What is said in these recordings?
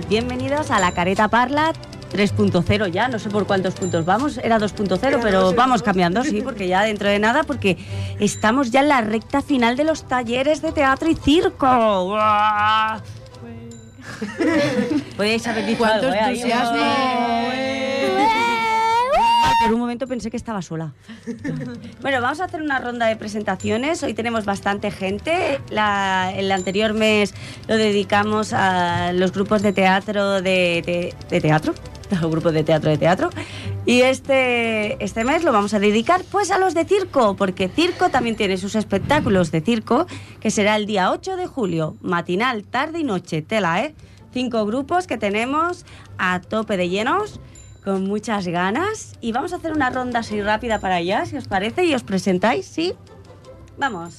bienvenidos a La Careta Parla 3.0 ya, no sé por cuántos puntos vamos, era 2.0, pero vamos cambiando, sí, porque ya dentro de nada, porque estamos ya en la recta final de los talleres de teatro y circo. ¡Uah! Podéis haber dicho ¡Cuánto algo, entusiasmo! Por un momento pensé que estaba sola. Bueno, vamos a hacer una ronda de presentaciones. Hoy tenemos bastante gente. El anterior mes lo dedicamos a los grupos de teatro de teatro. Los grupos de teatro. Y este mes lo vamos a dedicar pues a los de circo, porque circo también tiene sus espectáculos de circo, que será el día 8 de julio, matinal, tarde y noche. Tela, 5 grupos que tenemos a tope de llenos, con muchas ganas, y vamos a hacer una ronda así rápida para allá, si os parece, y os presentáis, ¿sí? Vamos.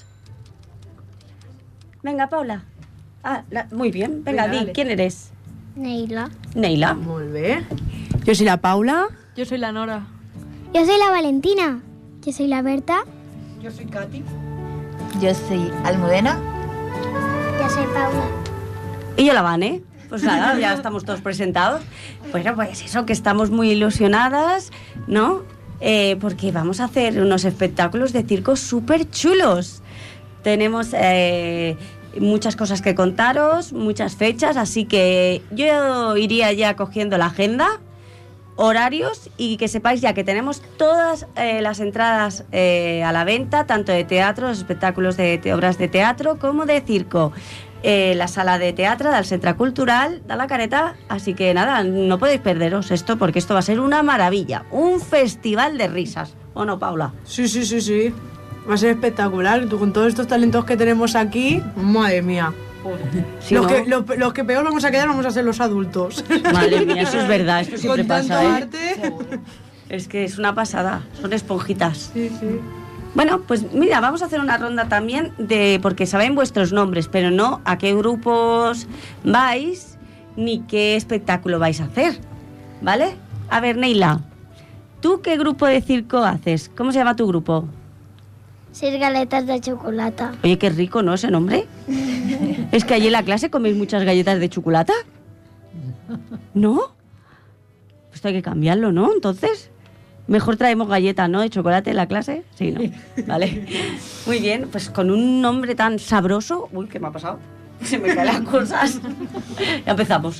Venga, Paula. Muy bien. Venga, di, ¿quién eres? Neila. Neila. Muy bien. Yo soy la Paula. Yo soy la Nora. Yo soy la Valentina. Yo soy la Berta. Yo soy Katy. Yo soy Almudena. Yo soy Paula. Y yo la Vane. Pues nada, ya estamos todos presentados. Bueno, pues eso, que estamos muy ilusionadas, ¿no? Porque vamos a hacer unos espectáculos de circo súper chulos. Tenemos muchas cosas que contaros, muchas fechas, así que yo iría ya cogiendo la agenda, horarios, y que sepáis ya que tenemos todas las entradas a la venta, tanto de teatro, los espectáculos de obras de teatro, como de circo. La sala de teatro del Centre Cultural de la Careta, así que nada, no podéis perderos esto, porque esto va a ser una maravilla, un festival de risas, ¿o no, Paula? Sí. Va a ser espectacular. Con todos estos talentos que tenemos aquí, madre mía. Sí, los que peor vamos a quedar vamos a ser los adultos. Madre mía, eso es verdad, esto siempre Con tanto pasa, arte. Es que es una pasada, son esponjitas. Sí. Bueno, pues mira, vamos a hacer una ronda también porque saben vuestros nombres, pero no a qué grupos vais ni qué espectáculo vais a hacer, ¿vale? A ver, Neila, ¿tú qué grupo de circo haces? ¿Cómo se llama tu grupo? 6 galetas de chocolate. Oye, qué rico, ¿no, ese nombre? ¿Es que allí en la clase coméis muchas galletas de chocolate? ¿No? Pues hay que cambiarlo, ¿no? Entonces, mejor traemos galletas, ¿no? De chocolate en la clase. Sí, ¿no? Vale. Muy bien, pues con un nombre tan sabroso... Uy, ¿qué me ha pasado? Se me caen las cosas. Ya empezamos.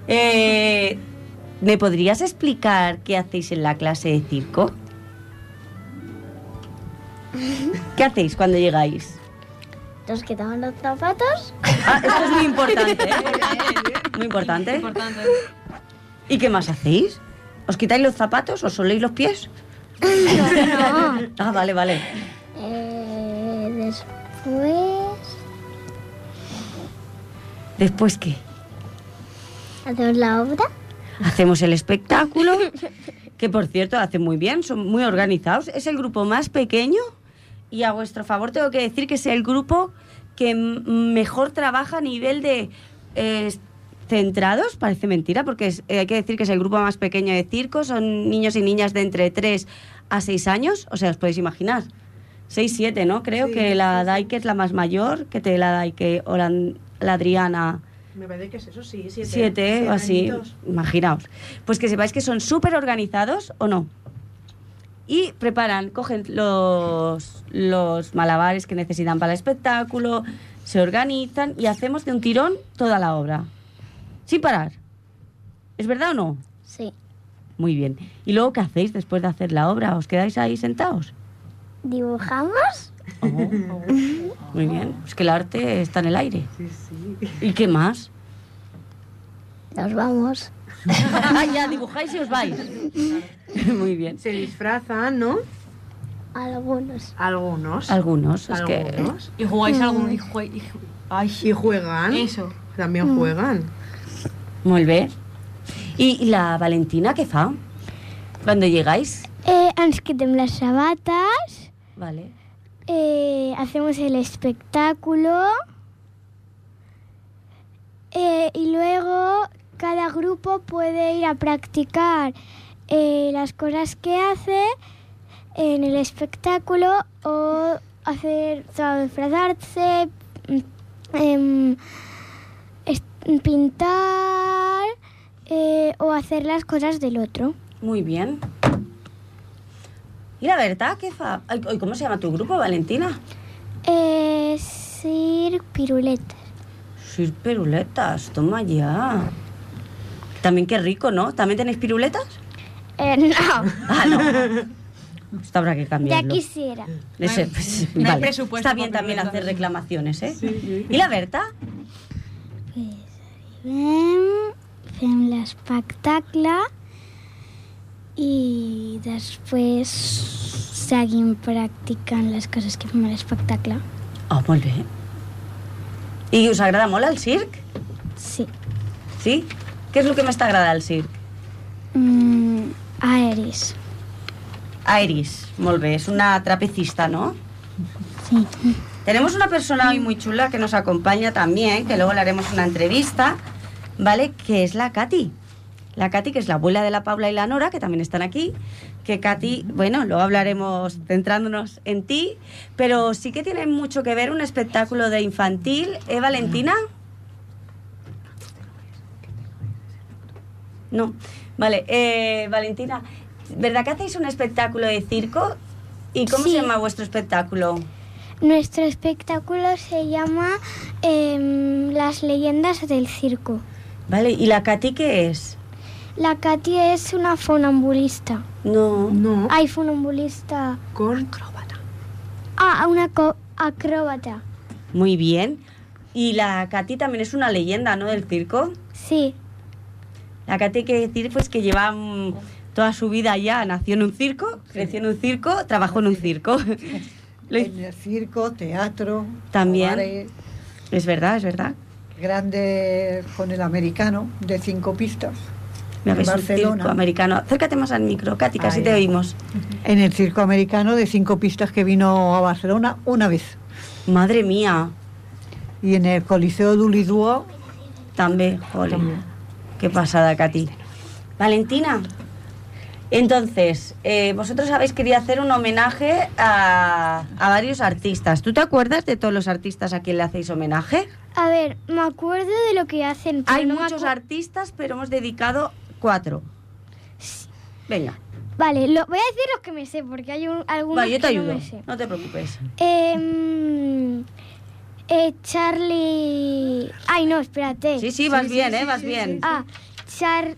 ¿Me podrías explicar qué hacéis en la clase de circo? ¿Qué hacéis cuando llegáis? Nos quitamos los zapatos. Esto es muy importante, ¿eh? Muy importante. ¿Y qué más hacéis? ¿Os quitáis los zapatos? ¿Os soléis los pies? No. Vale. ¿Después qué? Hacemos la obra. Hacemos el espectáculo, que por cierto hacen muy bien, son muy organizados. Es el grupo más pequeño y a vuestro favor tengo que decir que es el grupo que mejor trabaja a nivel de centrados, parece mentira, porque hay que decir que es el grupo más pequeño de circo, son niños y niñas de entre 3 a 6 años, o sea, os podéis imaginar, 6, 7, ¿no? Creo sí, que la Daike es la más mayor, que te la Daike o la Adriana... Me parece que es eso, sí, 7 o así, imaginaos. Pues que sepáis que son súper organizados, ¿o no? Y cogen los malabares que necesitan para el espectáculo, se organizan y hacemos de un tirón toda la obra. Sin parar. ¿Es verdad o no? Sí. Muy bien. ¿Y luego qué hacéis después de hacer la obra? ¿Os quedáis ahí sentados? ¿Dibujamos? Muy bien. Es que el arte está en el aire. Sí. ¿Y qué más? Nos vamos. Ya dibujáis y os vais. Muy bien. Se disfrazan, ¿no? Algunos. Es que... ¿Y jugáis algún...? Y juegan. Eso. También juegan. Muy bien. ¿Y la Valentina qué fa? Cuando llegáis. Ens quitem las sabatas. Vale. Hacemos el espectáculo. Y luego cada grupo puede ir a practicar las cosas que hace en el espectáculo o disfrazarse, pintar o hacer las cosas del otro. Muy bien. ¿Y la verdad qué fa? Ay, ¿cómo se llama tu grupo, Valentina? Sir Piruletas. Sir Piruletas, toma ya. También qué rico, ¿no? ¿También tenéis piruletas? No, Ah, no. Esto habrá que ya cambiarlo. quisiera. Ese, pues, no hay vale. presupuesto Está bien para también piruletas. hacer reclamaciones, ¿eh? ¿Y la Berta? Fem l'espectacle i després seguim practicant les coses que fem a l'espectacle. Oh, molt bé. I us agrada molt el circ? Sí. Sí? Què és el que més t'agrada del circ? Aeris. Iris, molt bé. És una trapecista, ¿no? Sí. Tenemos una persona hoy muy chula que nos acompaña también, que luego le haremos una entrevista, ¿vale? Que es la Katy. La Katy, que es la abuela de la Paula y la Nora, que también están aquí. Que Katy, bueno, luego hablaremos centrándonos en ti, pero sí que tiene mucho que ver un espectáculo de infantil. ¿Eh, Valentina? No. Vale, Valentina, ¿verdad que hacéis un espectáculo de circo? ¿Y cómo Sí. se llama vuestro espectáculo? Nuestro espectáculo se llama Las leyendas del circo. Vale, ¿y la Katy qué es? La Katy es una funambulista. No. No, Ay, funambulista. con... Una acróbata. Muy bien. Y la Katy también es una leyenda, ¿no? Del circo. Sí. La Katy hay que decir pues que lleva toda su vida ya, nació en un circo, creció en un circo, trabajó en un circo. En el circo, teatro, También. bares Es verdad, grandes con el americano de 5 pistas. Mira, En ves un Barcelona. circo americano. Acércate más al micro, Katy, casi Ahí. te oímos. En el circo americano de 5 pistas que vino a Barcelona una vez. Madre mía, Y en el Coliseo d'Oliduo también, jole. También. Qué pasada, Katy. Valentina, entonces, vosotros habéis querido hacer un homenaje a varios artistas. ¿Tú te acuerdas de todos los artistas a quien le hacéis homenaje? A ver, me acuerdo de lo que hacen. pero Hay no me muchos acu- artistas, pero hemos dedicado 4. Venga, Vale, voy a decir los que me sé, porque hay algunos vale, yo te que no ayudo, me sé. no te preocupes. Charlie... Ay, no, espérate. Sí, vas bien, vas bien. Charlie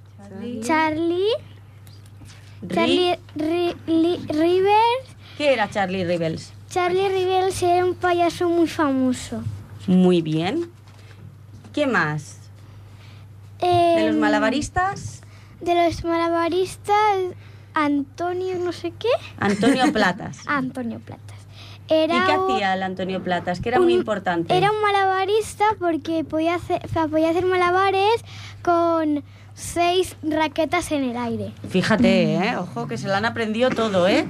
Ri- Rivers. ¿Qué era Charlie Rebels? Charlie Rivers era un payaso muy famoso. Muy bien. ¿Qué más? ¿De los malabaristas? De los malabaristas, Antonio no sé qué. Antonio Platas. Antonio Platas. ¿Y Era qué un- hacía el Antonio Platas? Que era muy importante. Era un malabarista porque podía hacer malabares con 6 raquetas en el aire. Fíjate, ojo, que se lo han aprendido todo, ¿eh?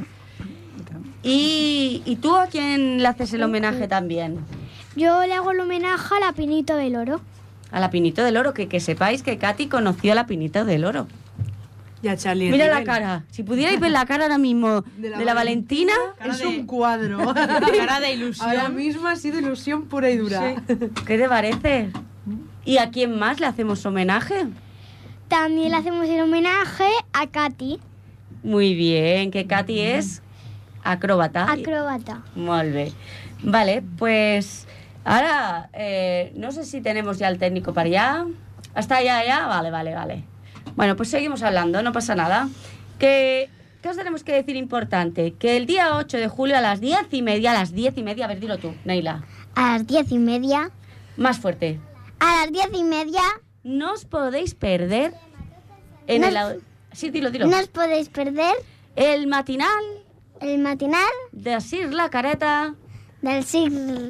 ¿Y tú a quién le haces el homenaje también? Yo le hago el homenaje a la Pinito del Oro. A la Pinito del Oro, que sepáis que Katy conoció a la Pinito del Oro. Ya, Charlie. Mira la Rivel. cara. Si pudierais ver la cara ahora mismo de la Valentina. Es un cuadro. Cara de ilusión. Ahora mismo ha sido ilusión pura y dura. ¿Qué te parece? ¿Y a quién más le hacemos homenaje? También le hacemos el homenaje a Katy, Muy bien, que Katy es acróbata. acróbata. Molt bé. Vale, pues ahora no sé si tenemos ya el técnico para allá. ¿Está ya? Vale. Bueno, pues seguimos hablando, no pasa nada. ¿Qué os tenemos que decir importante? Que el día 8 de julio a las 10:30, a ver, dilo tú, Neila. A las 10:30. Más fuerte. A las 10:30 No os podéis perder en No- el... Sí, dilo. no os podéis perder El matinal el matinal de Sir La Careta. del circ,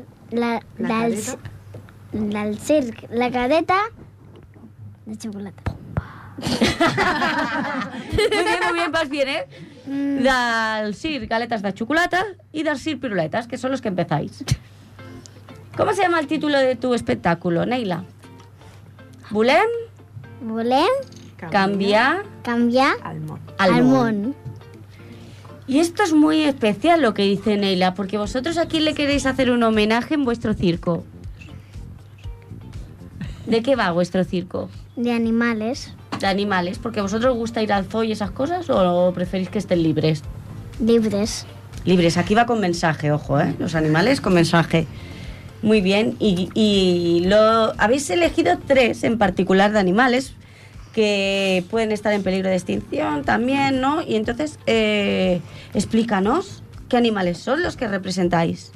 del circ La Cadeta de xocolata. Muy bien, vas bien, ¿eh? Del Sir Galetas de Chocolata y del Sir Piruletas, que son los que empezáis. ¿Cómo se llama el título de tu espectáculo, Neila? Volem Volem canviar canviar Al món. al el món. món. Y esto es muy especial lo que dice Neila, porque vosotros a quién le queréis hacer un homenaje en vuestro circo. ¿De qué va vuestro circo? De animales. De animales, porque vosotros os gusta ir al zoo y esas cosas o preferís que estén libres. Libres. Libres, aquí va con mensaje, ojo, los animales con mensaje. Muy bien, y habéis elegido 3 en particular de animales que pueden estar en peligro de extinción también, ¿no? Y entonces, explícanos qué animales son los que representáis.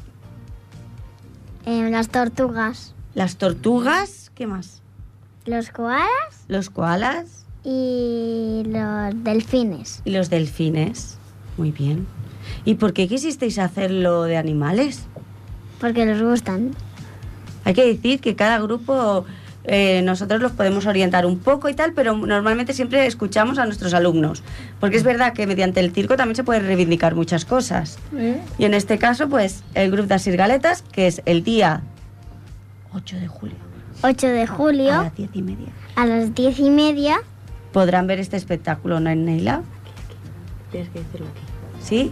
Las tortugas. Las tortugas, ¿qué más? Los koalas. Los koalas. Y los delfines. Y los delfines. Muy bien. ¿Y por qué quisisteis hacerlo de animales? Porque nos gustan. Hay que decir que cada grupo nosotros los podemos orientar un poco y tal, pero normalmente siempre escuchamos a nuestros alumnos. Porque es verdad que mediante el circo también se pueden reivindicar muchas cosas. Y en este caso, pues, el grupo de Asirgaletas, que es el día 8 de julio. 8 de julio. A las 10:30. A las 10:30. Podrán ver este espectáculo, ¿no, Neila? Tienes que decirlo aquí. ¿Sí?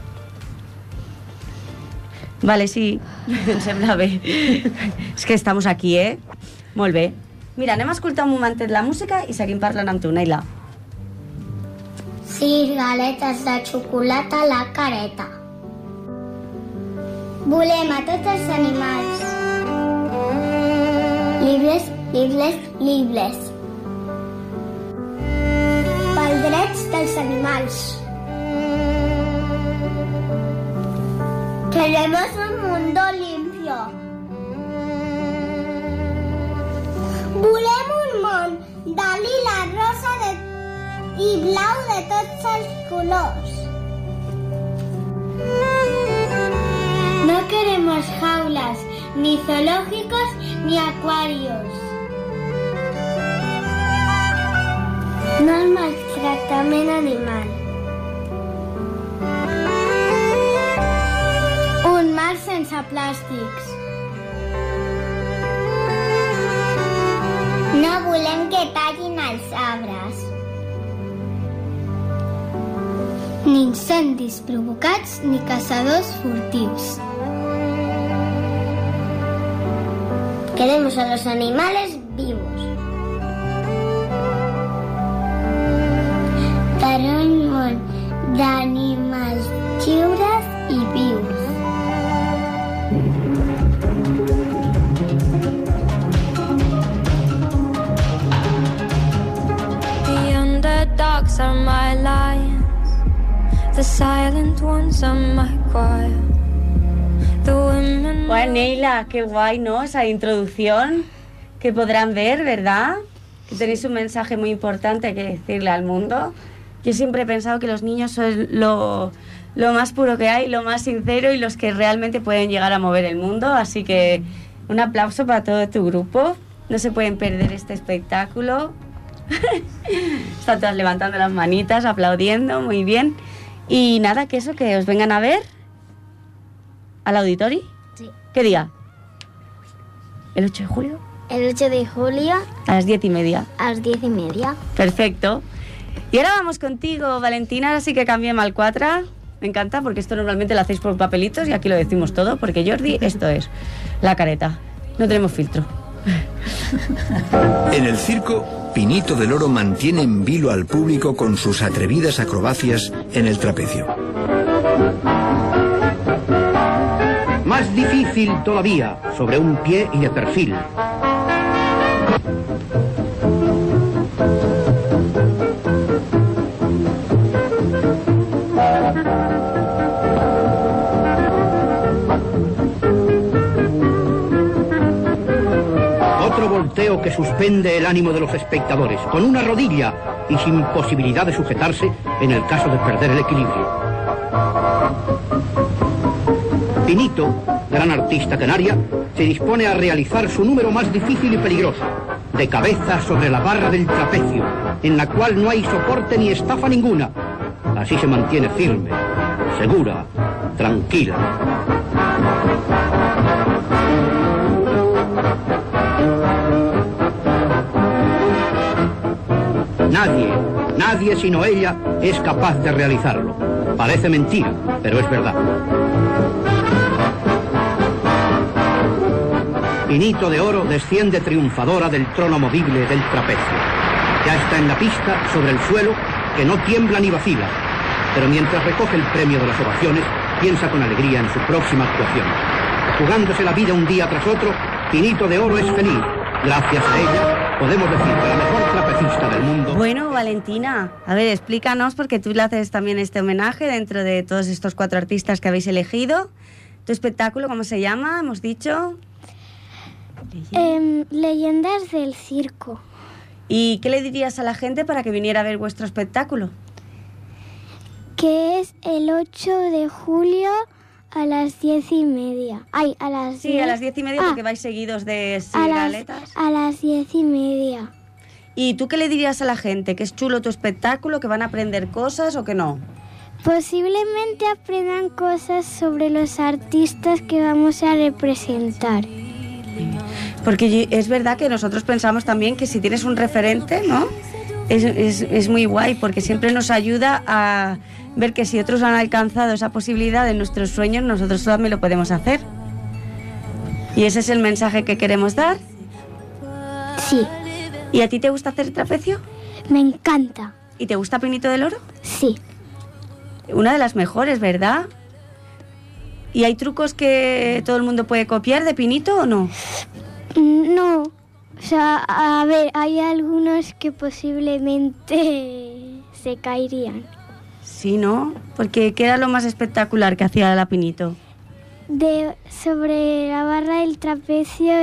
Vale, sí, sembla bé. És que estamos aquí, Molt bé. Mira, anem a escoltar un momentet la música i seguim parlant amb tu, Neila. Sí, galetes de xocolata a la careta. Volem a tots els animals. Llibres, llibres, llibres. Pels drets dels animals. Queremos un mundo limpio. Volem un món de lila, rosa i blau de tots els colors. No queremos jaulas, ni zoológicos, ni acuarios. No el maltractament animal. Un mar sense plàstics. No volem que tallin els arbres. Ni incendis provocats ni caçadors furtius. Queremos a los animales vivos. Per un món d'animals lliures i vius. Dogs are my lions, the silent ones are my choir. The women. Bueno, Neila, qué guay, ¿no? Esa introducción que podrán ver, ¿verdad? Que tenéis un mensaje muy importante que decirle al mundo. Yo siempre he pensado que los niños son lo más puro que hay, lo más sincero y los que realmente pueden llegar a mover el mundo. Así que un aplauso para todo tu grupo. No se pueden perder este espectáculo. Están todas levantando las manitas, aplaudiendo, muy bien. Y nada, que eso, que os vengan a ver al auditorio. Sí. ¿Qué día? ¿El 8 de julio? El 8 de julio A las 10:30. a las 10:30. Perfecto. Y ahora vamos contigo, Valentina, así que cambiemos al 4. Me encanta porque esto normalmente lo hacéis por papelitos y aquí lo decimos todo, porque Jordi, esto es la careta. No tenemos filtro. En el circo, Pinito del Oro mantiene en vilo al público con sus atrevidas acrobacias en el trapecio. Más difícil todavía, sobre un pie y de perfil. Otro volteo que suspende el ánimo de los espectadores, con una rodilla y sin posibilidad de sujetarse en el caso de perder el equilibrio. Pinito, gran artista canaria, se dispone a realizar su número más difícil y peligroso, de cabeza sobre la barra del trapecio, en la cual no hay soporte ni estafa ninguna. Así se mantiene firme, segura, tranquila. Nadie sino ella es capaz de realizarlo. Parece mentira, pero es verdad. Pinito de Oro desciende triunfadora del trono movible del trapecio. Ya está en la pista, sobre el suelo, que no tiembla ni vacila. Pero mientras recoge el premio de las ovaciones, piensa con alegría en su próxima actuación. Jugándose la vida un día tras otro, Pinito de Oro es feliz. Gracias a ella, podemos decir que la mejor trapecista del mundo... Bueno, Valentina, a ver, explícanos, porque tú le haces también este homenaje dentro de todos estos 4 artistas que habéis elegido. ¿Tu espectáculo cómo se llama? Hemos dicho... Leyendas del circo. ¿Y qué le dirías a la gente para que viniera a ver vuestro espectáculo? Que es el 8 de julio a las 10:30. Ay, a las 10. Sí, a las 10:30 porque vais seguidos de sigaletas. A las 10:30. ¿Y tú qué le dirías a la gente? ¿Que es chulo tu espectáculo? ¿Que van a aprender cosas o que no? Posiblemente aprendan cosas sobre los artistas que vamos a representar. Porque es verdad que nosotros pensamos también que si tienes un referente, ¿no? Es muy guay, porque siempre nos ayuda a ver que si otros han alcanzado esa posibilidad de nuestros sueños, nosotros también lo podemos hacer. Y ese es el mensaje que queremos dar. Sí. ¿Y a ti te gusta hacer trapecio? Me encanta. ¿Y te gusta Pinito del Oro? Sí. Una de las mejores, ¿verdad? ¿Y hay trucos que todo el mundo puede copiar de Pinito o no? No. O sea, a ver, hay algunos que posiblemente se caerían. Sí, ¿no? Porque ¿qué era lo más espectacular que hacía la Pinito? Sobre la barra del trapecio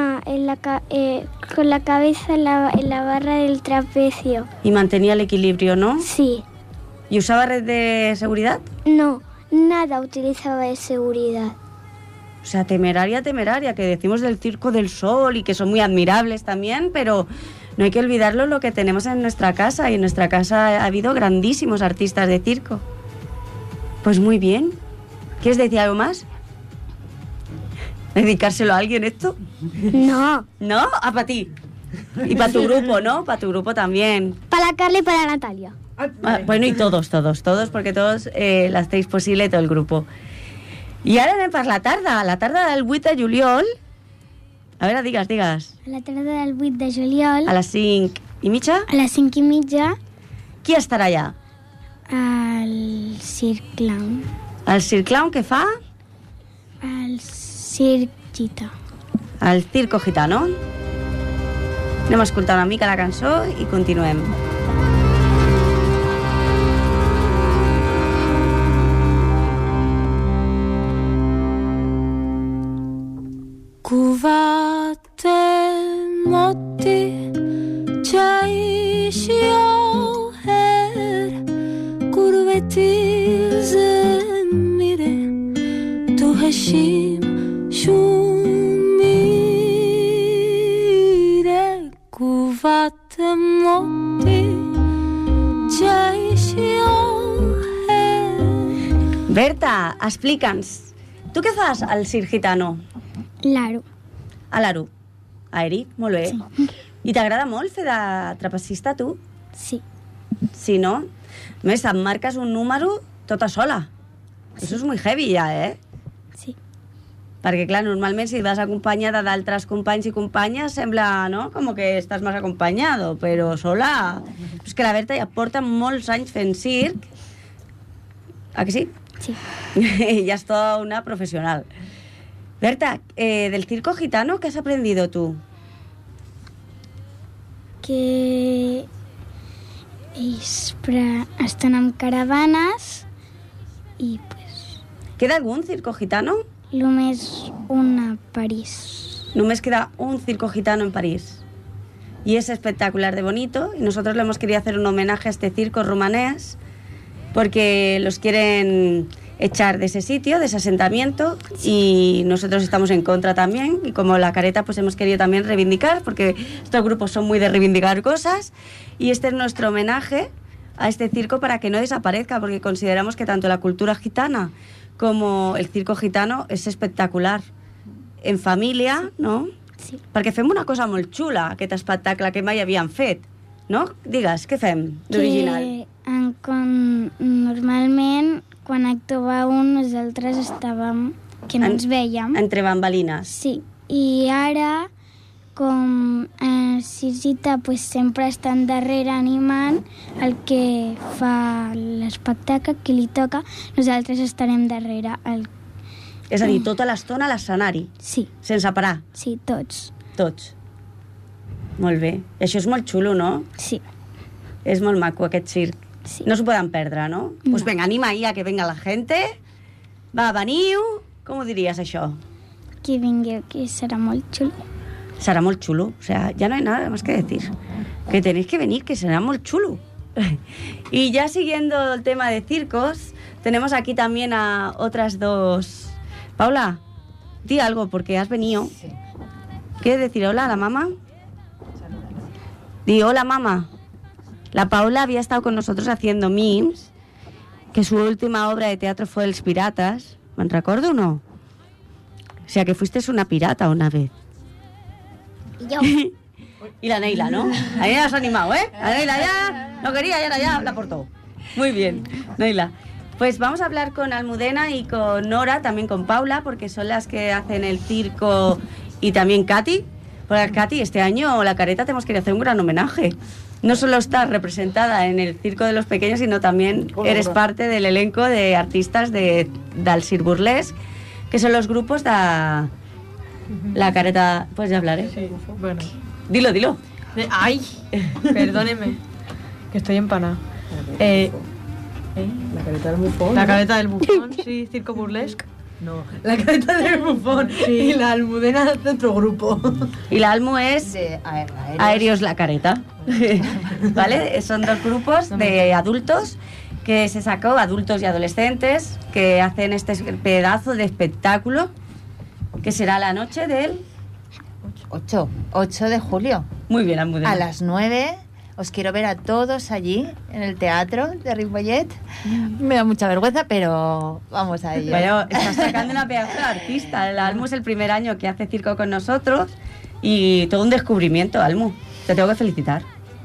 con la cabeza en la barra del trapecio. Y mantenía el equilibrio, ¿no? Sí. ¿Y usaba red de seguridad? No, nada utilizaba de seguridad. O sea, temeraria, que decimos del Circo del Sol y que son muy admirables también, pero no hay que olvidarlo lo que tenemos en nuestra casa. Y en nuestra casa ha habido grandísimos artistas de circo. Pues muy bien. ¿Quieres decir algo más? ¿Dedicárselo a alguien esto? No. ¿No? Ah, para ti. Y para tu grupo, ¿no? Para tu grupo también. Para la Carla y para la Natalia. Ah, bueno, y todos, porque todos la hacéis posible, todo el grupo. I ara anem per la tarda del 8 de juliol. A veure, digues. A la tarda del 8 de juliol. A les 5:30? A les 5:30. Qui estarà allà? El Circ Clown. El Circ Clown què fa? El Circ Gità. El Circo Gitano. Anem a escoltar una mica la cançó i continuem. قوت مادی چشی آهر قربتی زمیره تو هشیم شومیره قوت مادی چشی آهر. Berta, explica'ns, tu què fas al Circ Gitano? L'Aro. A l'Aro. A Eric, molt bé. Sí. I t'agrada molt fer de trapecista, tu? Sí. Sí, no? A més, et marques un número tota sola. Sí. Eso és muy heavy ja, Sí. Perquè, clar, normalment si vas acompanyada d'altres companys i companyes sembla, no?, com que estàs més acompanyado, però sola... És que la Berta ja porta molts anys fent circ. ¿A que sí? Sí. Ya es toda una profesional. Berta, del Circo Gitano, ¿qué has aprendido tú? Que ells estan amb caravanes i pues, ¿Queda algún Circo Gitano? només una a París. Només queda un Circo Gitano en París. Y es espectacular de bonito. Y nosotros le hemos querido hacer un homenaje a este circo rumanés porque los quieren echar de ese sitio, de ese asentamiento, y nosotros estamos en contra también, y como la Careta pues hemos querido también reivindicar, porque estos grupos son muy de reivindicar cosas, y este es nuestro homenaje a este circo para que no desaparezca, porque consideramos que tanto la cultura gitana como el Circo Gitano és espectacular. En família, no? Sí. Perquè fem una cosa molt xula, aquest espectacle que mai havíem fet, no? Digues, què fem d'original? Normalment, quan actuava un, nosaltres estàvem... que no ens vèiem. Entre bambalines. Sí. I ara, com Sisita pues, sempre estan darrere animant el que fa l'espectacle, qui li toca, nosaltres estarem darrere. És a dir, tota l'estona a l'escenari. Sí. Sense parar. Sí, tots. Tots. Molt bé. I això és molt xulo, no? Sí. És molt maco, aquest circ. Sí. No s'ho poden perdre, no? No. Pues venga, anima ahí a que venga la gente. Va, veniu. Com ho diries, això? Qui vingui aquí serà molt xulo. Será muy chulo. O sea, ya no hay nada más que decir. Que tenéis que venir, que será muy chulo. Y ya siguiendo el tema de circos, tenemos aquí también a otras dos. Paula, di algo porque has venido. Sí. ¿Quieres decir hola a la mamá? Di hola, mamá. La Paula había estado con nosotros haciendo Mims, que su última obra de teatro fue Els Piratas. ¿Me recuerdo o no? O sea, que fuiste una pirata una vez. Yo. Y la Neila, ¿no? La Neila se ha animado, ¿eh? La Neila ya no quería y ahora ya la aportó. Muy bien, Neila. Pues vamos a hablar con Almudena y con Nora, también con Paula, porque son las que hacen el circo, y también Katy. Porque Katy, este año la Careta tenemos que hacer un gran homenaje. No solo estás representada en el Circo de los Pequeños, sino también eres parte del elenco de artistas del Circ Burlesque, que son los grupos de la Careta. ¿Puedes hablar, eh? Sí, bueno. Dilo. ¡Ay! Perdóneme, que estoy empanada. La careta del bufón. La careta del bufón, sí, Circo Burlesque. No, la careta del bufón. Sí. Y la Almudena de otro grupo. Y la Almu es De Aéreos La Careta. ¿Vale? Son dos grupos de adultos que se sacó, adultos y adolescentes, que hacen este pedazo de espectáculo que será la noche del... 8 de julio. Muy bien, Almudena. A las 9 os quiero ver a todos allí en el teatro de Ripollet. Me da mucha vergüenza, pero vamos a ello. Bueno, estás sacando una pedazo de artista. El Almu es el primer año que hace circo con nosotros y todo un descubrimiento, Almu. Te tengo que felicitar.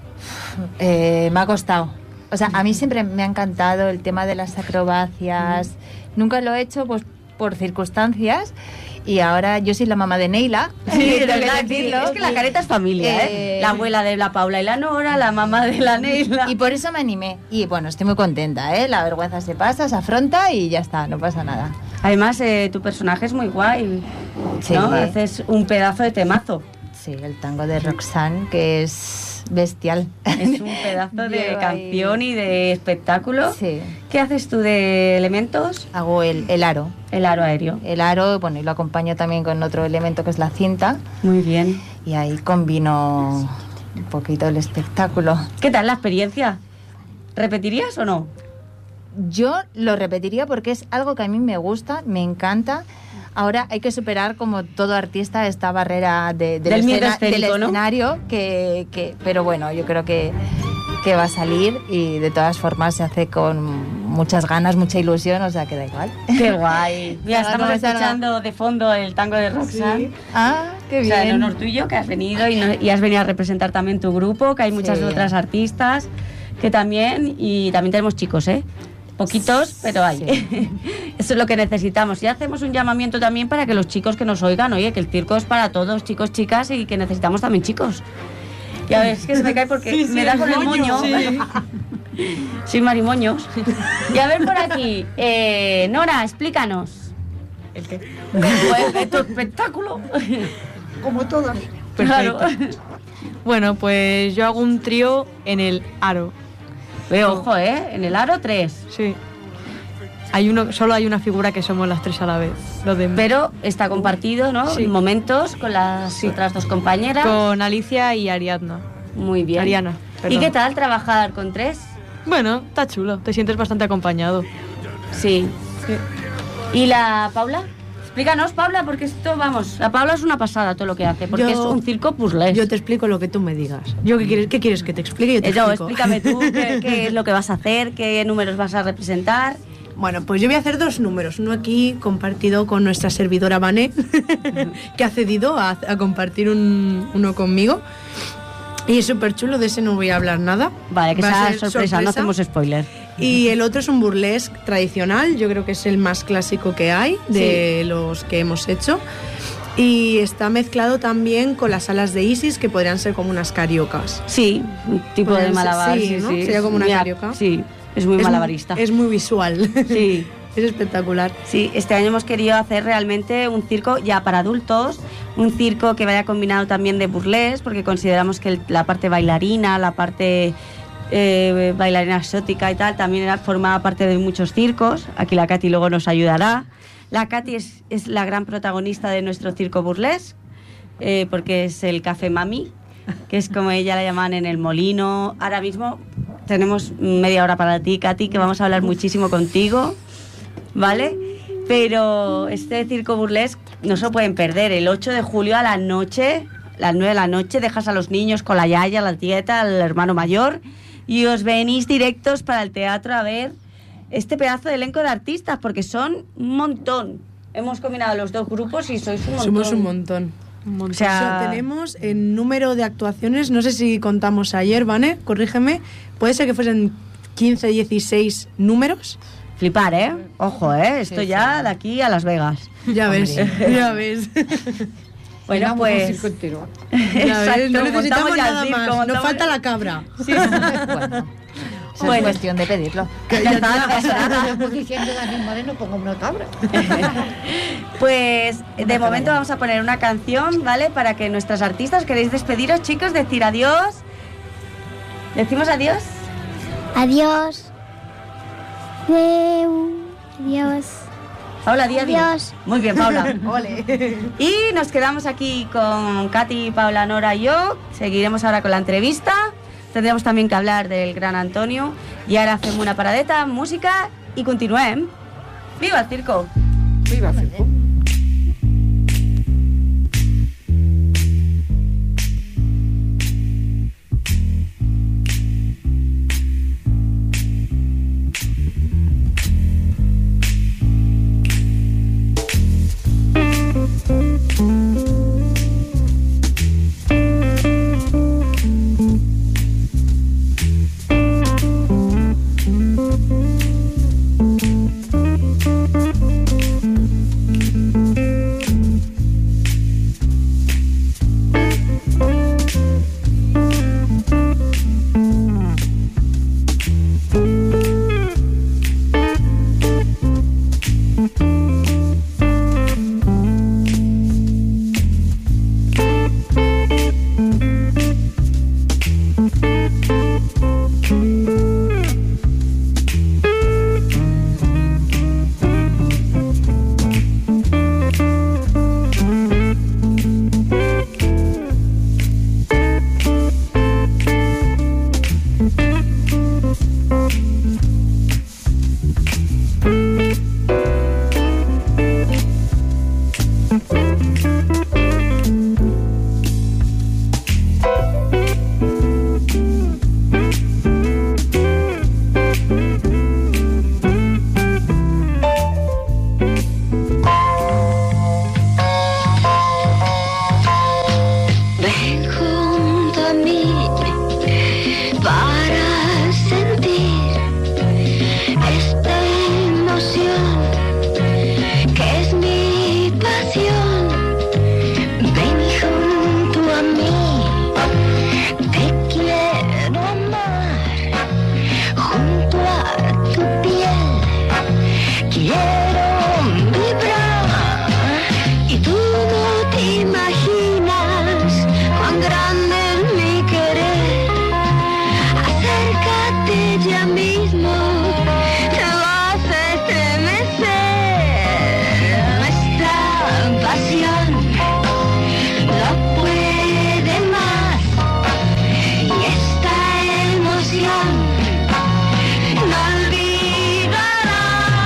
Me ha costado. O sea, a mí siempre me ha encantado el tema de las acrobacias. Nunca lo he hecho pues por circunstancias. Y ahora yo soy la mamá de Neila. Sí, de verdad, es que la Careta es familia, ¿eh? La abuela de la Paula y la Nora, la mamá de la Neila. Y por eso me animé. Y bueno, estoy muy contenta, ¿eh? La vergüenza se pasa, se afronta y ya está, no pasa nada. Además, tu personaje es muy guay, ¿no? Sí. Haces un pedazo de temazo. Sí, el tango de Roxanne, que es bestial. Es un pedazo de Lleva canción y de espectáculo. Sí. ¿Qué haces tú de elementos? Hago el aro. El aro aéreo. El aro, bueno, y lo acompaño también con otro elemento que es la cinta. Muy bien. Y ahí combino un poquito el espectáculo. ¿Qué tal la experiencia? ¿Repetirías o no? Yo lo repetiría porque es algo que a mí me gusta, me encanta. Ahora hay que superar, como todo artista, esta barrera Del miedo escénico, del ¿no? escenario, pero bueno, yo creo que va a salir y de todas formas se hace con muchas ganas, mucha ilusión, o sea que da igual. ¡Qué guay! Mira, Salga estamos como salga. escuchando de fondo el tango de Roxanne. Ah, qué O bien. sea, en honor tuyo, que has venido y has venido a representar también tu grupo, que hay muchas Sí. otras artistas que también, y también tenemos chicos, ¿eh? Poquitos, pero hay. Sí. Eso es lo que necesitamos. Y hacemos un llamamiento también para que los chicos que nos oigan, oye, que el circo es para todos, chicos, chicas, y que necesitamos también chicos. Y a ver, es que se me cae porque me da con el moño. Sí. Soy marimoños. Y a ver por aquí, Nora, explícanos. ¿El qué? Pues, tu espectáculo. Como todas. Claro. Bueno, pues yo hago un trío en el aro. Ojo, en el aro 3. Sí. Solo hay una figura que somos las tres a la vez. Lo de Pero está compartido, ¿no? Sí. En momentos con las otras dos compañeras. con Alicia y Ariadna. Muy bien. Ariana, ¿Y perdón. qué tal trabajar con 3? Bueno, está chulo, te sientes bastante acompañado. Sí. ¿Y la Paula? Explícanos, Paula, porque esto, vamos, la Paula es una pasada todo lo que hace, porque Yo- es un circo puzzle. Yo te explico lo que tú me digas. ¿Qué quieres que te explique? Yo te No, explico. explícame tú qué es lo que vas a hacer, qué números vas a representar. Bueno, pues yo voy a hacer 2 números. Uno aquí compartido con nuestra servidora Vané, que ha cedido a compartir uno conmigo. Y es súper chulo, de ese no voy a hablar nada. Vale, que Va a sea ser sorpresa, no hacemos spoiler. Y el otro es un burlesque tradicional, yo creo que es el más clásico que hay de los que hemos hecho. Y está mezclado también con las salas de Isis, que podrían ser como unas cariocas. Sí, un tipo de Podrían ser- malabar. sí, Sí, ¿no? sí. Sería como una Muy carioca. Sí, es muy malabarista. Es muy visual. Sí. Es espectacular. Sí, este año hemos querido hacer realmente un circo ya para adultos, un circo que vaya combinado también de burlés, porque consideramos que la parte bailarina, la parte bailarina exótica y tal, también formaba parte de muchos circos. Aquí la Katy luego nos ayudará. La Katy es la gran protagonista de nuestro circo burlés, porque es el Café Mami, que es como ella la llaman en el molino. Ahora mismo tenemos media hora para ti, Katy, que vamos a hablar muchísimo contigo, ¿vale? Pero este circo burlesque no se lo pueden perder. El 8 de julio a la noche, las 9 de la noche, dejas a los niños con la yaya, la tieta, el hermano mayor y os venís directos para el teatro a ver este pedazo de elenco de artistas, porque son un montón. Hemos combinado los dos grupos y sois un montón. Somos un montón. O sea, tenemos el número de actuaciones, no sé si contamos ayer, ¿vale? Corrígeme. Puede ser que fuesen 15, 16 números. flipar, ¿eh? Ojo, ¿eh? Esto Sí, ya sí. de aquí a Las Vegas. Ya ves, Hombre. ya ves. Bueno, Llenamos pues... un circo entero. Ya ves, Exacto, no necesitamos montamos ya el nada circo, más. Nos montamos- falta la cabra. Bueno, eso Bueno. es cuestión de pedirlo. Ya está, Estamos diciendo Dani Moreno, pongo una cabra. Pues de momento vamos a poner una canción, ¿vale? Para que nuestras artistas, ¿queréis despediros, chicos? Decir adiós. ¿Decimos adiós? Adiós. Adeu. Adiós. Paula, di adiós. Adiós. Muy bien, Paula. Ole. Y nos quedamos aquí con Katy, Paula, Nora y yo. Seguiremos ahora con la entrevista. Tendremos también que hablar del gran Antonio. Y ahora hacemos una paradeta, música y continuem. ¡Viva el circo! Viva el circo. Ven junto a mí para sentir esta emoción que es mi pasión. Ven junto a mí, te quiero amar. Junto a tu piel quiero vibrar y tú no te imaginas cuán grande es mi querer. Acércate ya mismo, te vas a estremecer. Nuestra pasión no puede más y esta emoción no olvidará.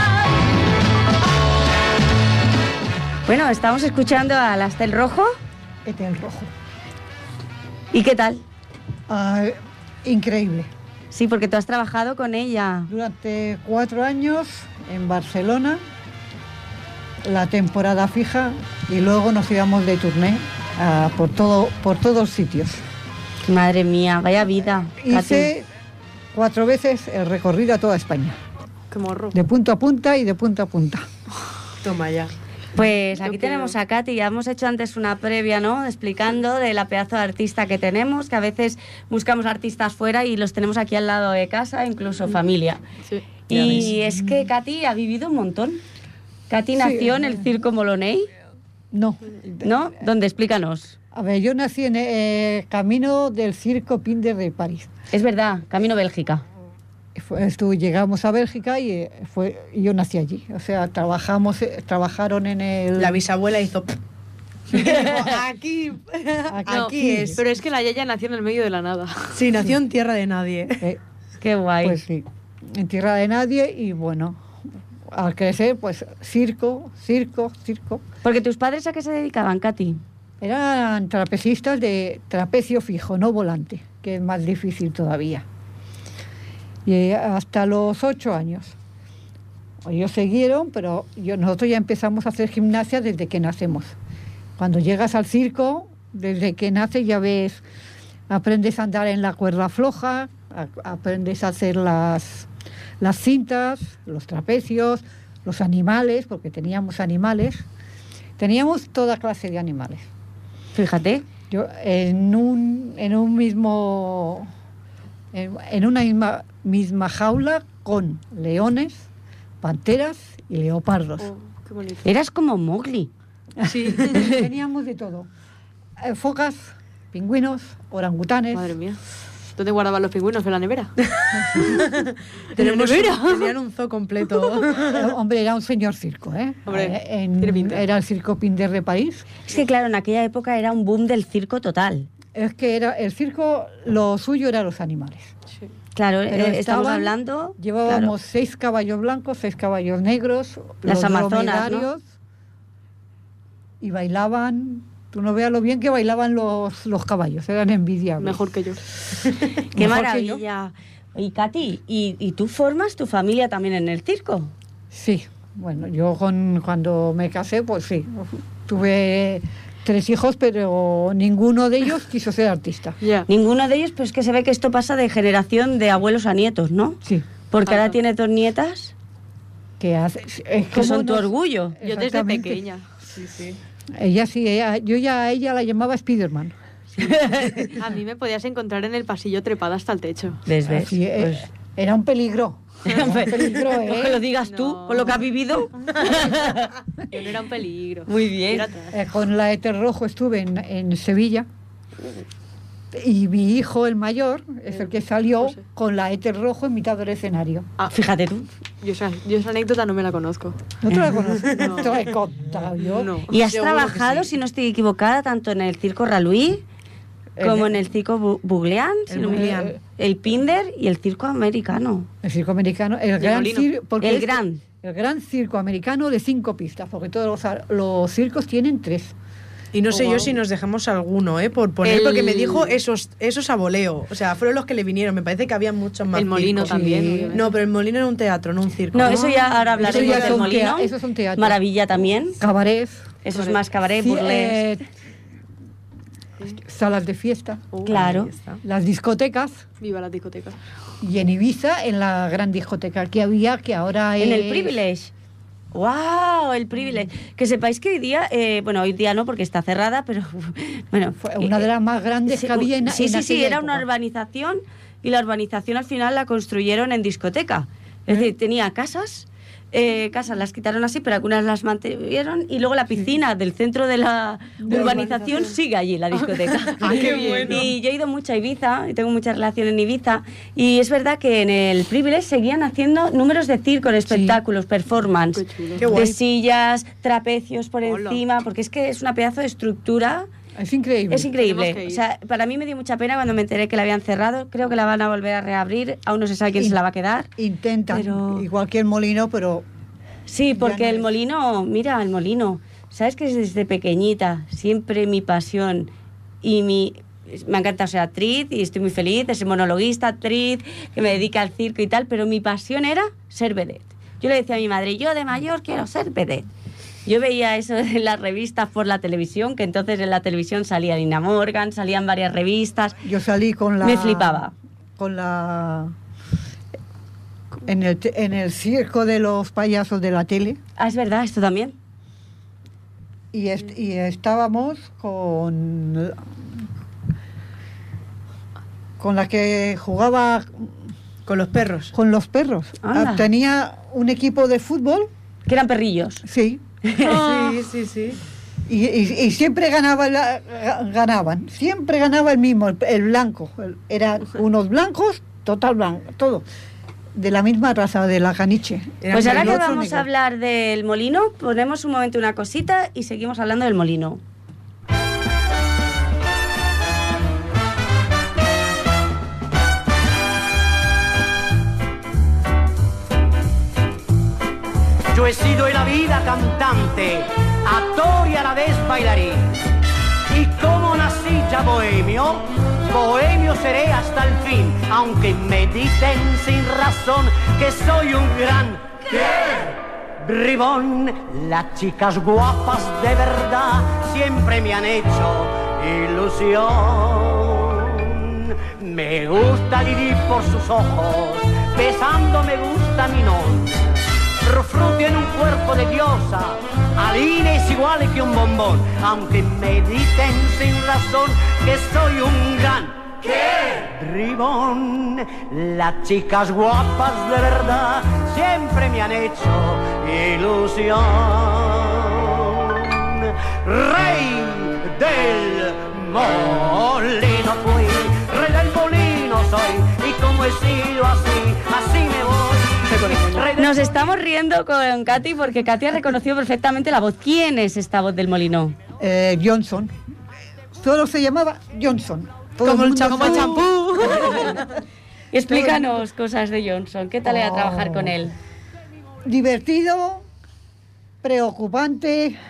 Bueno, estamos escuchando a la Estel Rojo. Este es el rojo. ¿Y qué tal? Ah, increíble. Sí, porque tú has trabajado con ella. Durante 4 años en Barcelona, la temporada fija, y luego nos íbamos de turné por todos sitios. Madre mía, vaya vida. Hice 4 veces el recorrido a toda España, Qué morro. de punta a punta y de punta a punta. Toma ya. Pues aquí tenemos a Katy, ya hemos hecho antes una previa, ¿no? Explicando de la pedazo de artista que tenemos, que a veces buscamos artistas fuera y los tenemos aquí al lado de casa, incluso familia. Sí. Y es que Katy ha vivido un montón. Katy nació en el Circo Moloney, No. ¿no? ¿Dónde? Explícanos. A ver, yo nací en el camino del Circo Pinder de París. Es verdad, camino Bélgica. Llegamos a Bélgica y yo nací allí. O sea, trabajaron en el... La bisabuela hizo... aquí es. Pero es que la Yaya nació en el medio de la nada. Sí, nació en tierra de nadie. Qué guay. Pues sí, en tierra de nadie y bueno, al crecer, pues circo. Porque tus padres ¿a qué se dedicaban, Katy? Eran trapecistas de trapecio fijo, no volante, que es más difícil todavía. Y hasta los 8 años. Ellos siguieron, pero nosotros ya empezamos a hacer gimnasia desde que nacemos. Cuando llegas al circo, desde que naces ya ves, aprendes a andar en la cuerda floja, aprendes a hacer las cintas, los trapecios, los animales, porque teníamos animales. Teníamos toda clase de animales. Fíjate. Yo en una misma jaula con leones, panteras y leopardos. Qué bonito. Eras como Mowgli. Sí, teníamos de todo. Focas, pingüinos, orangutanes. Madre mía. ¿Dónde guardaban los pingüinos? ¿En la nevera? Tenían un zoo completo. Hombre, era un señor circo, ¿eh? Hombre, tiene pinta. Era el Circo Pinder de París. Es que claro, en aquella época era un boom del circo total. Es que era el circo, lo suyo eran los animales. Sí. Claro, Pero estamos hablando... Llevábamos 6 caballos blancos, 6 caballos negros, Las los amazonas, dromedarios, y bailaban... Tú no veas lo bien que bailaban los caballos, eran envidiables. Mejor que yo. ¡Qué Mejor maravilla! Y Katy, ¿y tú formas tu familia también en el circo? Sí, bueno, yo cuando me casé, pues sí, tuve 3 hijos, pero ninguno de ellos quiso ser artista. Ya. Ninguno de ellos, pues que se ve que esto pasa de generación de abuelos a nietos, ¿no? Sí. Porque ahora tiene 2 nietas Que hace, que son tu orgullo. Yo desde Exactamente. pequeña. Ella sí, yo ya a ella la llamaba Spiderman. A mí me podías encontrar en el pasillo trepada hasta el techo. ¿Ves? Así, Pues, era un peligro. Era un peligro, no que lo digas tú, No. por lo que has vivido. Yo no era un peligro. Muy bien. Era atrás. Con la Éter Rojo estuve en Sevilla. Y mi hijo, el mayor, es el que salió No sé. con la Éter Rojo en mitad del escenario. Ah, Fíjate tú. yo esa anécdota no me la conozco. ¿No te la conoces? No. Te la he contado yo. No. Y has Seguro trabajado, que sí. si no estoy equivocada, tanto en el circo Raluí como en el circo Bugleán, si no me Bugleán. equivoco, el Pinder y el circo americano. El circo americano, el gran Molino. circo. El gran. El gran circo americano de 5 pistas, porque todos los circos tienen 3. Y no sé wow. yo si nos dejamos alguno, por poner, porque me dijo esos a voleo. O sea, fueron los que le vinieron. Me parece que había muchos más. El molino circos. también. Sí. obviamente. No, pero el molino era un teatro, no un circo. No, eso ya ahora hablaremos Eso ya del son molino. esos son teatros. Maravilla también. Cabarets. Eso es más cabaret, Sí, burlesque. salas de fiesta, Claro. Ahí está. las discotecas, Viva la discoteca. y en Ibiza, en la gran discoteca que había, que ahora En el es- Privilege. ¡Wow! El Privilege. Que sepáis que hoy día, bueno, hoy día no porque está cerrada, pero bueno. Fue una de las más grandes que había en Sí, en sí, sí, aquella era una época. urbanización y la urbanización al final la construyeron en discoteca. Es decir, tenía casas, las quitaron así, pero algunas las mantuvieron y luego la piscina del centro de la urbanización sigue allí, la discoteca. Ah, qué bueno. Y yo he ido mucho a Ibiza y tengo mucha relación en Ibiza y es verdad que en el Privilege seguían haciendo números de circo, en espectáculos, performance, Qué chulo. Qué guay. de sillas, trapecios por Hola. encima, porque es que es una pedazo de estructura. Es increíble. Es increíble. Tenemos que ir. O sea, para mí me dio mucha pena cuando me enteré que la habían cerrado. Creo que la van a volver a reabrir. Aún no se sabe quién se la va a quedar. Intentan, Pero- igual que el molino, pero Sí, porque no el es. molino, mira, el molino. Sabes que desde pequeñita, siempre mi pasión y me ha encantado ser actriz y estoy muy feliz de ser monologuista, actriz, que me dedica al circo y tal, pero mi pasión era ser vedette. Yo le decía a mi madre, yo de mayor quiero ser vedette. Yo veía eso en las revistas por la televisión, que entonces en la televisión salía Nina Morgan, salían varias revistas. yo salí con la... Me flipaba. Con la... En el circo de los payasos de la tele. Ah, es verdad, esto también. y estábamos con la que jugaba Con los perros. con los perros. Anda. Tenía un equipo de fútbol, Que eran perrillos. sí, Sí. y siempre ganaban, siempre ganaba el mismo, el blanco. Eran unos blancos, total blanco, todo, de la misma raza, de la caniche. Pues ahora que Otro vamos negro. a hablar del molino, ponemos un momento una cosita y seguimos hablando del molino. Yo he sido en la vida cantante, actor y a la vez bailarín. Y como nací ya bohemio, bohemio seré hasta el fin, aunque me dicen sin razón que soy un gran bribón. Las chicas guapas de verdad siempre me han hecho ilusión. Me gusta Lili por sus ojos, besando me gusta Minón. Frufru tiene un cuerpo de diosa, Aline es igual que un bombón, aunque me dicen sin razón que soy un gran bribón. Las chicas guapas de verdad siempre me han hecho ilusión. Rey del molino fui, rey del molino soy, y como he sido así, así me voy. Nos estamos riendo con Katy porque Katy ha reconocido perfectamente la voz. ¿Quién es esta voz del molino? Johnson. Solo se llamaba Johnson. Todo Como el mundo champú. Explícanos cosas de Johnson. ¿Qué tal era trabajar con él? Divertido, preocupante,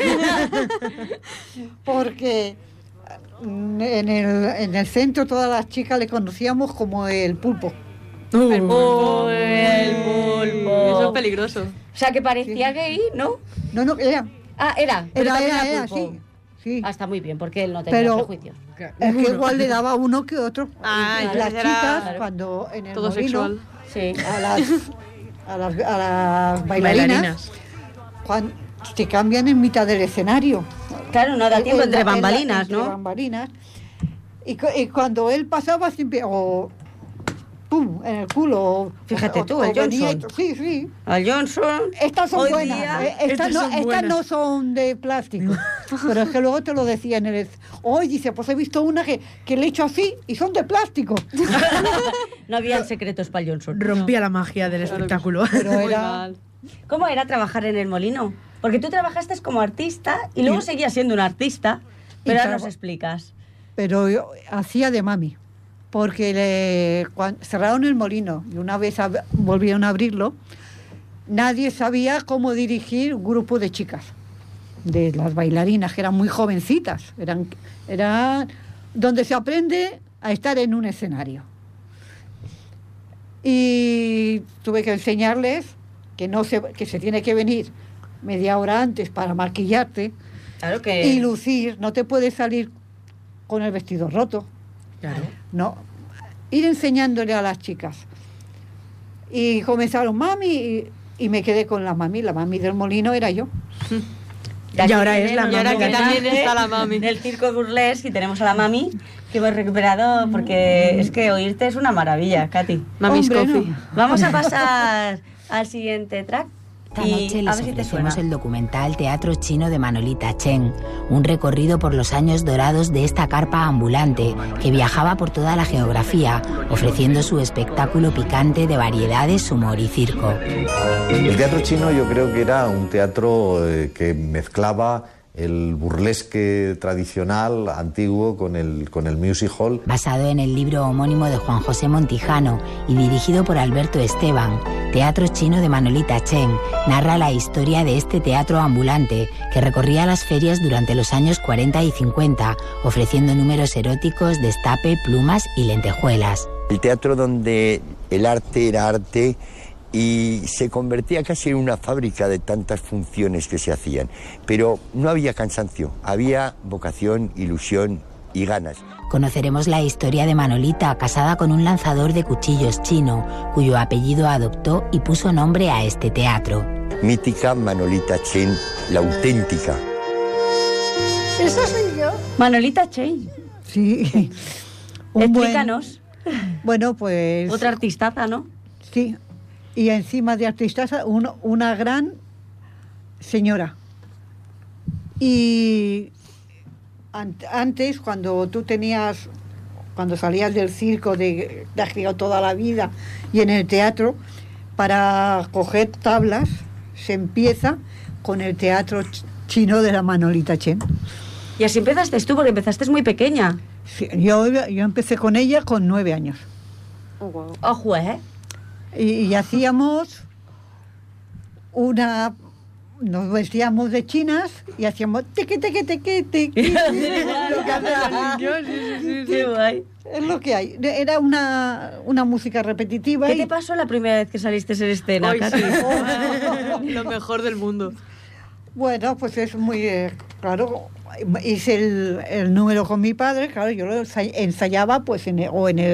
porque en el centro todas las chicas le conocíamos como el pulpo. El pulpo. El pulpo. Eso es peligroso. O sea, que parecía gay, ¿no? No, era. Ah, era. Pero también Era, pulpo. sí. Sí. Ah, está muy bien, porque él no tenía Pero prejuicios. es que igual le daba uno que otro. Ah, Y entonces las era chicas, cuando en el todo molino, sexual. Sí. a las bailarinas, cuando se cambian en mitad del escenario. Claro, no da tiempo entre En la- bambalinas, entre ¿no? bambalinas. Y cuando él pasaba siempre, o pum, en el culo. Fíjate tú, el venía Johnson. Sí. Al Johnson. Estas son Hoy buenas. día- Estas Estas son buenas. no son de plástico. Pero es que luego te lo decía en el... Hoy dice, pues he visto una que le he hecho así y son de plástico. No habían secretos para el Johnson. Rompía la magia del espectáculo. Pero Muy era... mal. ¿Cómo era trabajar en el molino? Porque tú trabajaste como artista y luego seguías siendo un artista, pero ahora nos explicas. Pero yo hacía de mami. Porque cerraron el molino y una vez volvieron a abrirlo, nadie sabía cómo dirigir un grupo de chicas, de las bailarinas, que eran muy jovencitas. Eran donde se aprende a estar en un escenario. Y tuve que enseñarles que se tiene que venir media hora antes para maquillarte Claro que... y lucir. No te puedes salir con el vestido roto. Claro. No, ir enseñándole a las chicas. Y comenzaron mami y me quedé con la mami del molino era yo. Y ahora es la tenemos Y ahora mami. que un también homenaje está la mami. Del circo burlesque y tenemos a la mami que hemos recuperado porque es que oírte es una maravilla, Katy. Mami's Hombre, Coffee. no. Vamos a pasar al siguiente track Esta noche y a les ver si te ofrecemos suena. el documental Teatro Chino de Manolita Chen, un recorrido por los años dorados de esta carpa ambulante que viajaba por toda la geografía, ofreciendo su espectáculo picante de variedades, humor y circo. El teatro chino yo creo que era un teatro que mezclaba el burlesque tradicional, antiguo, con el music hall. Basado en el libro homónimo de Juan José Montijano y dirigido por Alberto Esteban, Teatro Chino de Manolita Chen narra la historia de este teatro ambulante que recorría las ferias durante los años 40 y 50, ofreciendo números eróticos, destape, plumas y lentejuelas. El teatro donde el arte era arte y se convertía casi en una fábrica de tantas funciones que se hacían. Pero no había cansancio, había vocación, ilusión y ganas. Conoceremos la historia de Manolita, casada con un lanzador de cuchillos chino, cuyo apellido adoptó y puso nombre a este teatro. Mítica Manolita Chen, la auténtica. Esa soy yo. Manolita Chen. Sí. Explícanos. Bueno, pues... Otra artistaza, ¿no? Sí. Y encima de artistaza, una gran señora. Y antes, cuando salías del circo, te has criado toda la vida, y en el teatro, para coger tablas, se empieza con el teatro chino de la Manolita Chen. Y así empezaste tú, porque empezaste muy pequeña. Sí, yo empecé con ella con 9 años. Oh, wow. Ojo, ¿eh? Y hacíamos nos vestíamos de chinas y hacíamos teque, teque, teque, teque. Lo que hacen los niños, sí. Qué guay. Es lo que hay. Era una música repetitiva. ¿Qué te pasó la primera vez que saliste en escena, Ay, Katy? sí. Lo mejor del mundo. Bueno, pues es muy... claro, hice el número con mi padre, claro, yo lo ensayaba pues en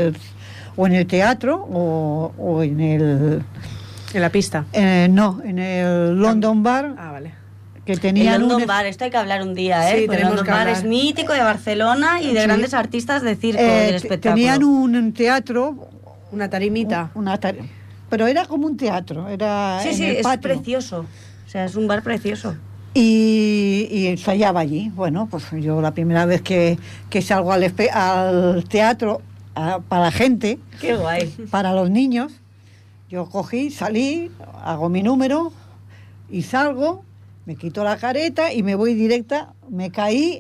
el teatro o en el... ¿En la pista? No, en el London Bar. Ah, vale. Que tenían el London Bar, esto hay que hablar un día, ¿eh? Sí, Porque el London Bar es mítico de Barcelona y de grandes artistas de circo, del espectáculo. Tenían un teatro... Una tarimita. Pero era como un teatro, era Sí, en el patio. es precioso. O sea, es un bar precioso. Y ensayaba allí. Bueno, pues yo la primera vez que salgo al teatro para la gente, qué guay, para los niños, yo cogí, salí, hago mi número y salgo, me quito la careta y me voy directa, me caí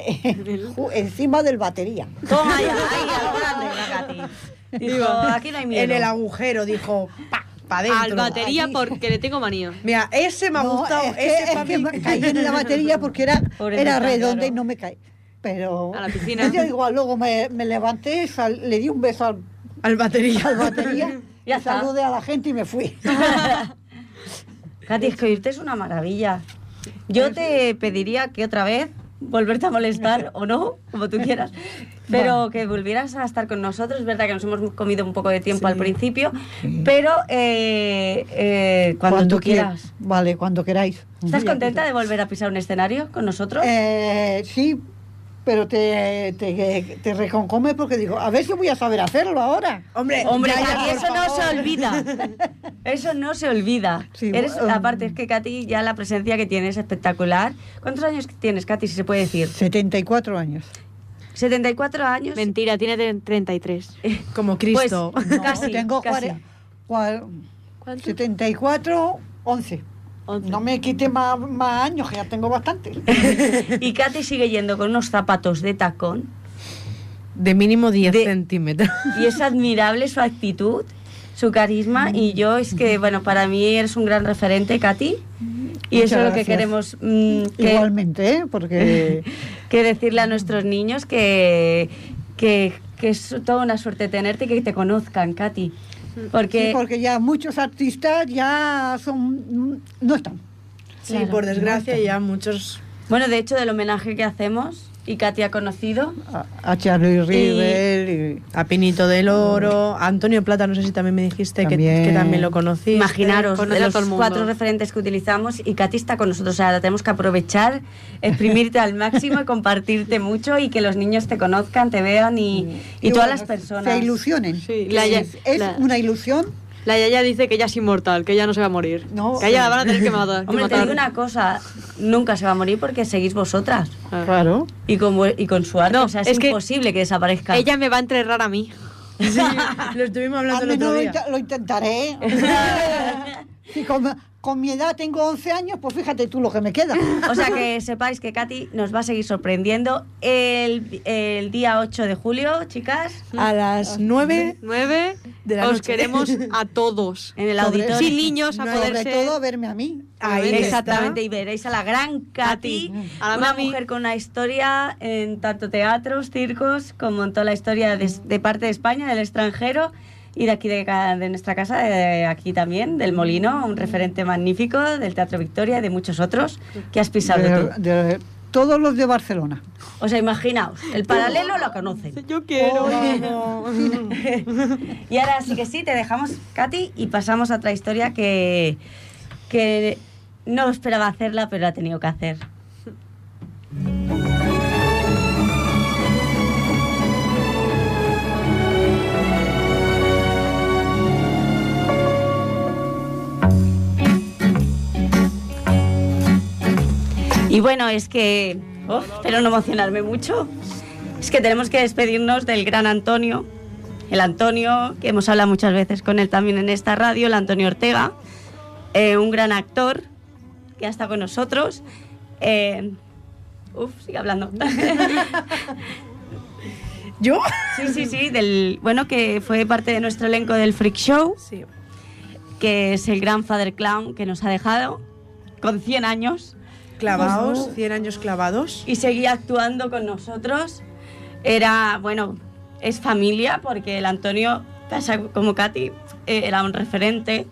encima del batería. Toma ya, ahí, a lo grande, la Katy. Digo, aquí no hay miedo. En el agujero, dijo, pa' dentro. Al batería porque le tengo manía. Mira, ese me ha gustado. Es que caí en la batería porque era redonda, claro, y no me caí. Pero a la piscina. Yo igual, luego me levanté, le di un beso al batería. Y saludé a la gente y me fui. Katy, es que oírte es una maravilla. Yo te pediría que otra vez volverte a molestar o no, como tú quieras, pero que volvieras a estar con nosotros. Es verdad que nos hemos comido un poco de tiempo al principio, pero cuando tú quieras. Vale, cuando queráis. ¿Estás contenta de volver a pisar un escenario con nosotros? Sí, pero te reconcome porque digo, a ver si voy a saber hacerlo ahora. Hombre, Katy, eso no se olvida. Eso no se olvida. Sí, aparte, es que Katy, ya la presencia que tienes es espectacular. ¿Cuántos años tienes, Katy, si se puede decir? 74 años. 74 años. Mentira, tiene 33. Como Cristo. Pues, no, casi. Tengo 74, 11. No me quite más años, que ya tengo bastante. Y Katy sigue yendo con unos zapatos de tacón. De mínimo 10 centímetros. Y es admirable su actitud, su carisma. Y yo, es que, bueno, para mí eres un gran referente, Katy. Y eso es lo que queremos. Igualmente, porque... que decirle a nuestros niños que es toda una suerte tenerte y que te conozcan, Katy. Sí, porque ya muchos artistas ya no están. Sí, claro, por desgracia ya muchos... Bueno, de hecho, del homenaje que hacemos, y Katy ha conocido a Charlie River, a Pinito del Oro, a Antonio Plata, no sé si también me dijiste que también lo conocí. Imaginaros, de los 4 referentes que utilizamos, y Katy está con nosotros. O sea, la tenemos que aprovechar, exprimirte al máximo y compartirte mucho, y que los niños te conozcan, te vean y todas las personas se ilusionen. Sí, es una ilusión. La Yaya dice que ella es inmortal, que ella no se va a morir. No, que ella la van a tener que matar. Hombre, te digo una cosa, nunca se va a morir porque seguís vosotras. Claro. Y con su arte, o sea, es imposible que desaparezca. Ella me va a enterrar a mí. Sí, lo estuvimos hablando el otro día. Lo intentaré. Si con mi edad tengo 11 años, pues fíjate tú lo que me queda. O sea, que sepáis que Katy nos va a seguir sorprendiendo el día 8 de julio, chicas. A las 9 de la noche. Os queremos a todos. En el auditorio. Sin niños, a poder ser... Sobre todo verme a mí. Ahí exactamente, y veréis a la gran Katy, una mujer con una historia en tanto teatros, circos, como en toda la historia de parte de España, del extranjero. Y de aquí, de nuestra casa, de aquí también, del Molino, un referente magnífico del Teatro Victoria y de muchos otros que has pisado tú. De todos los de Barcelona. O sea, imaginaos, el paralelo lo conocen. Yo quiero. Y ahora sí que sí, te dejamos, Katy, y pasamos a otra historia que no esperaba hacerla, pero la ha tenido que hacer. Y bueno, es que, espero no emocionarme mucho, es que tenemos que despedirnos del gran Antonio, el Antonio, que hemos hablado muchas veces con él también en esta radio, el Antonio Ortega, un gran actor que ha estado con nosotros. Sigue hablando. ¿Yo? Sí, que fue parte de nuestro elenco del Freak Show, sí. Que es el gran Father Clown que nos ha dejado con 100 años. Clavados, 100 años clavados. Y seguía actuando con nosotros. Es familia, porque el Antonio, pasa como Katy, era un referente.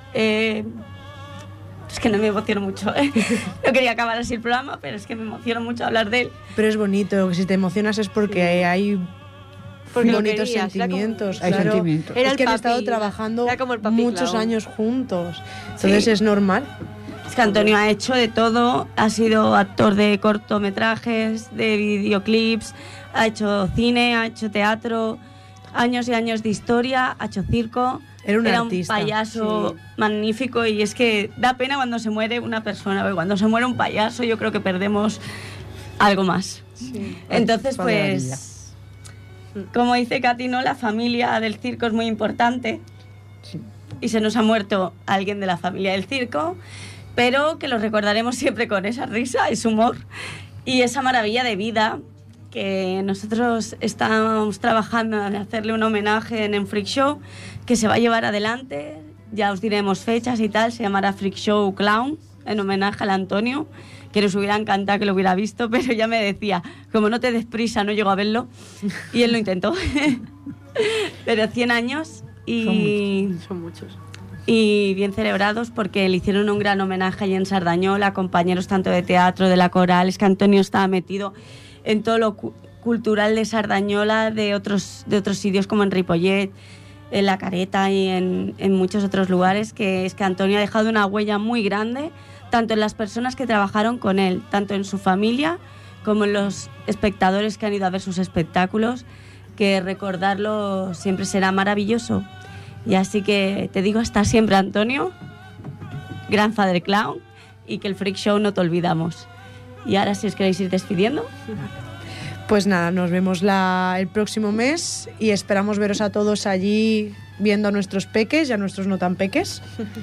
Es que no me emociono mucho. No quería acabar así el programa, pero es que me emociono mucho hablar de él. Pero es bonito, que si te emocionas es porque hay bonitos sentimientos. Hay sentimientos. Es que han estado trabajando muchos años juntos. Entonces es normal. Es que Antonio ha hecho de todo. Ha sido actor de cortometrajes, de videoclips, ha hecho cine, ha hecho teatro, años y años de historia, ha hecho circo. Era un artista, payaso magnífico, y es que da pena cuando se muere una persona, porque cuando se muere un payaso yo creo que perdemos algo más. Sí. Entonces, pues, como dice Katy, ¿no? La familia del circo es muy importante, sí. Y se nos ha muerto alguien de la familia del circo, pero que lo recordaremos siempre con esa risa, ese humor y esa maravilla de vida que nosotros estamos trabajando en hacerle un homenaje en Freak Show, que se va a llevar adelante, ya os diremos fechas y tal, se llamará Freak Show Clown, en homenaje al Antonio, que nos hubiera encantado que lo hubiera visto, pero ya me decía, como no te des prisa, no llego a verlo, y él lo intentó. Pero 100 años y... Son muchos. Y bien celebrados, porque le hicieron un gran homenaje allí en Sardañola, compañeros tanto de teatro, de la coral, es que Antonio estaba metido en todo lo cultural de Sardañola, de otros sitios como en Ripollet, en La Careta y en muchos otros lugares, que es que Antonio ha dejado una huella muy grande, tanto en las personas que trabajaron con él, tanto en su familia como en los espectadores que han ido a ver sus espectáculos, que recordarlo siempre será maravilloso. Y así que te digo hasta siempre, Antonio, gran Father Clown, y que el Freak Show no te olvidamos. Y ahora, si os queréis ir despidiendo. Pues nada, nos vemos el próximo mes y esperamos veros a todos allí viendo a nuestros peques y a nuestros no tan peques.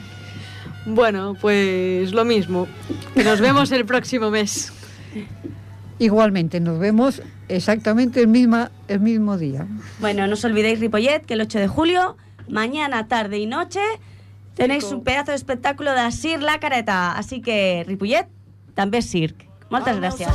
Bueno, pues lo mismo. Nos vemos el próximo mes. Igualmente, nos vemos exactamente el mismo día. Bueno, no os olvidéis, Ripollet, que el 8 de julio, mañana, tarde y noche, tenéis un pedazo de espectáculo de Sir La Careta. Así que, Ripollet, també circ. Moltes gràcies.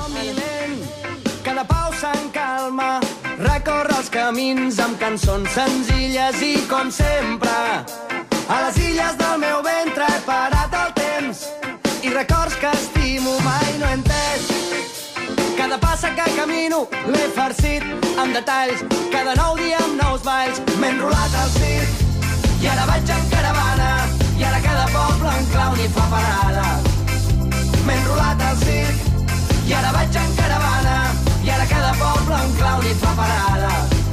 Cada pau se'n calma, recorre els camins amb cançons senzilles i com sempre a les illes del meu ventre he parat el temps i records que estimo mai no he entès. Cada passa que camino l'he farcit amb detalls, cada nou dia amb nous balls m'he enrolat al circ i ara vaig en caravana i ara cada poble en clown hi fa parada. M'he enrolat al circ i ara vaig en caravana i ara cada poble en clown hi fa parada.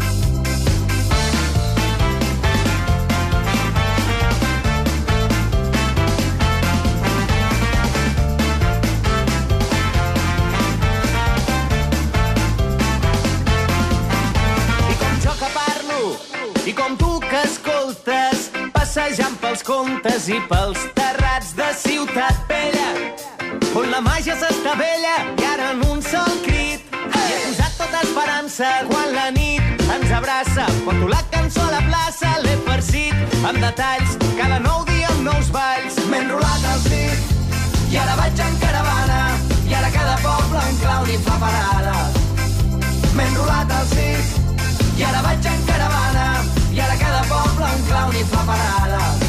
I com jo que parlo i com tu que escoltes, passejant pels contes i pels terrats de Ciutat Vella, on la màgia s'estavella i ara en un sol crit i he posat tota esperança quan la nit ens abraça. Porto la cançó a la plaça, l'he farcit amb detalls, cada nou dia amb nous balls m'he enrolat al circ i ara vaig en caravana i ara cada poble en clown hi fa parada. M'he enrolat al circ i ara vaig en caravana i ara cada poble en clown hi fa parada.